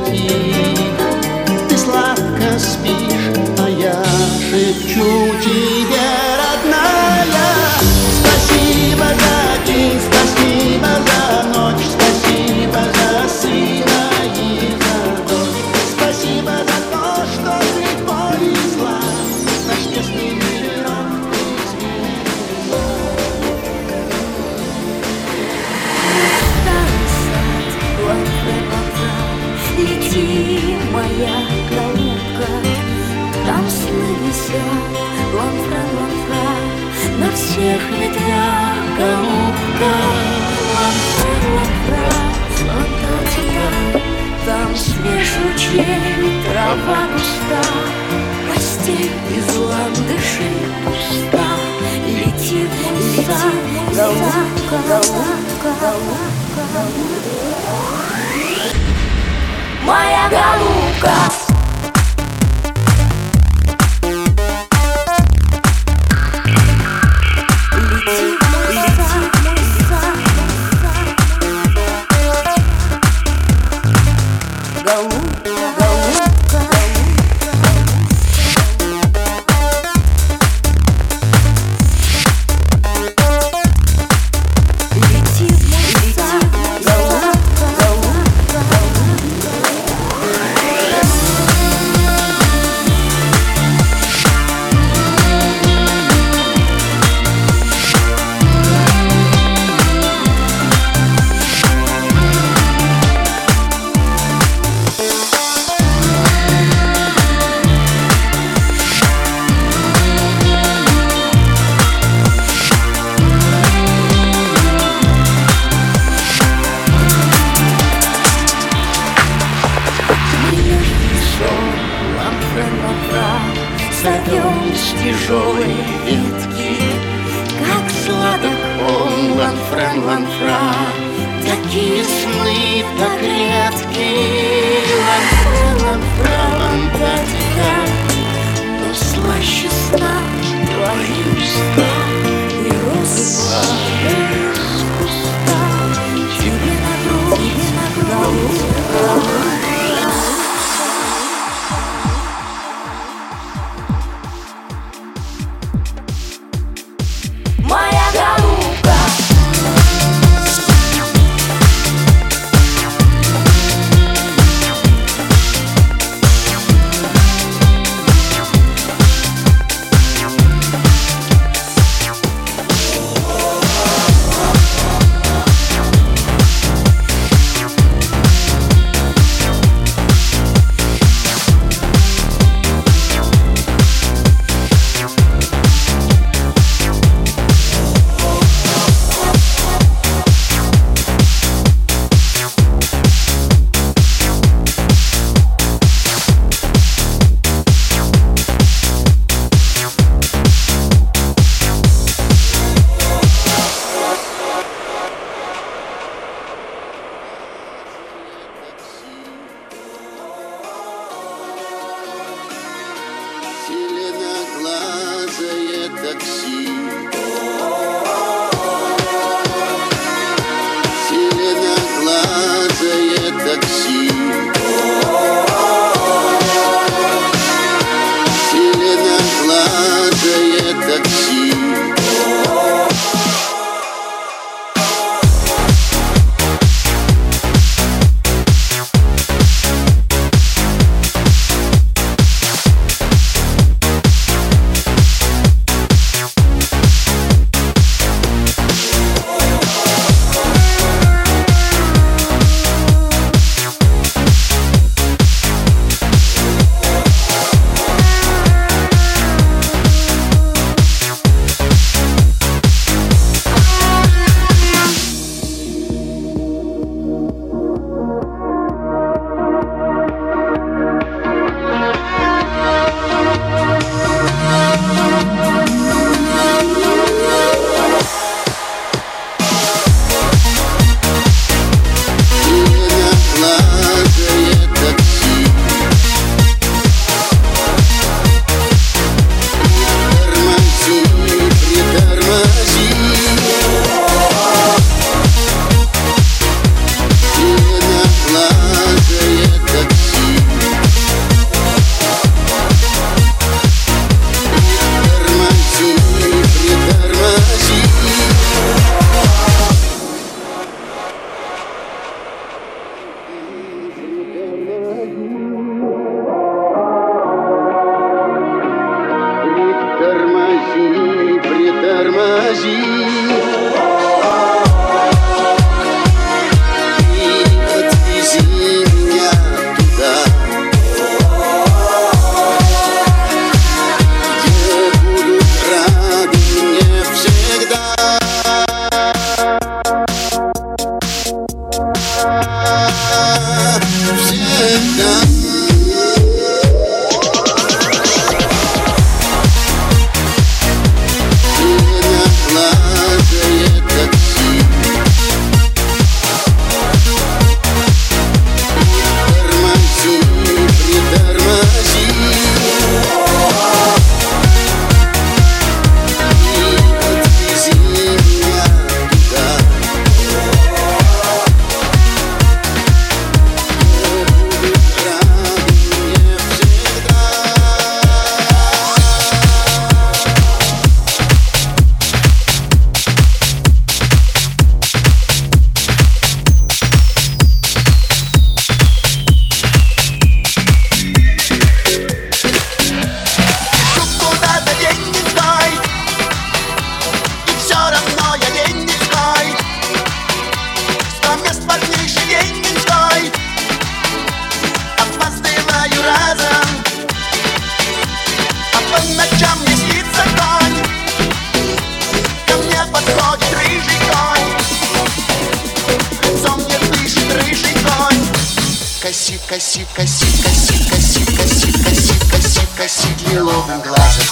затих. Ты сладко спишь, а я шепчу тебе, родная, спасибо за день, спасибо за ночь, спасибо за сына и за дочь. Спасибо за то, что ты повезла наш честный мирок изменила. Лети, моя голубка, там сны висят, ланфра, ланфра, на всех ветвях голубка. Ланфра, ланфра, Антарктика, там свеж лучей, трава густа, постель из ландышей пуста. Лети в мой сад, голубка, голубка, голубка, моя голубка. Лети в мой сад, голубка, голубка. Лети в мой сад, голубка, голубка, голубка. Зовем с тяжелой ветки, как сладок он, ланфрен, ланфра. Такие сны так редки, ланфрен, ланфра, Антарктика. Но слаще сна твои уста и роса из куста. Тебе на грудь, голубка. Моя голубка. Зеленоглазое такси, зеленоглазое такси, зеленоглазое такси. косит, косит, косит, косит, косит, косит, косит, косит лиловым глазом.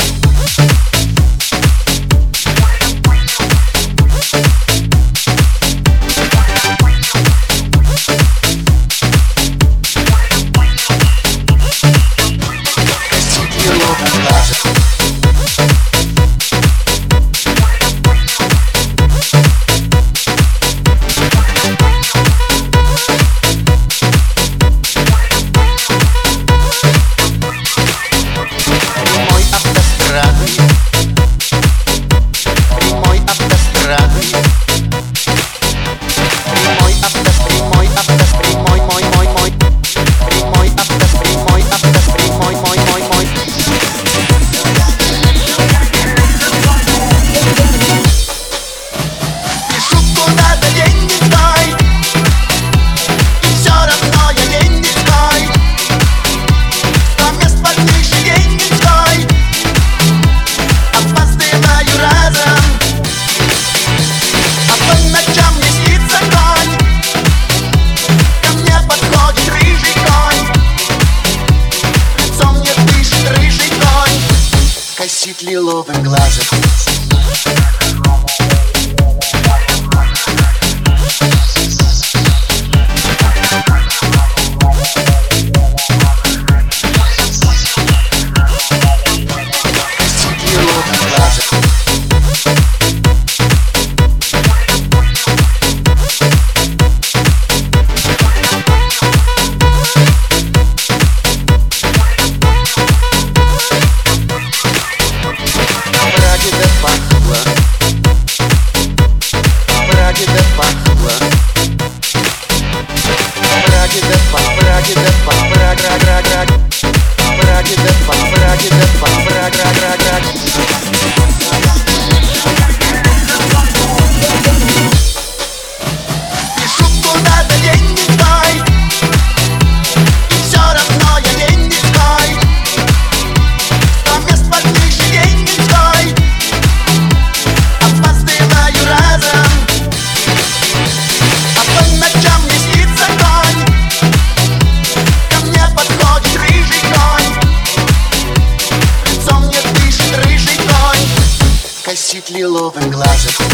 Косит лиловым глазом. Пишу куда-то деньги стой, и все равно я деньги стой. 100 мест под крышей деньги стой, опаздываю разом, а по ночам мне снится конь. Ко мне подходит рыжий конь, лицом мне дышит рыжий конь. Косит лиловым глазом.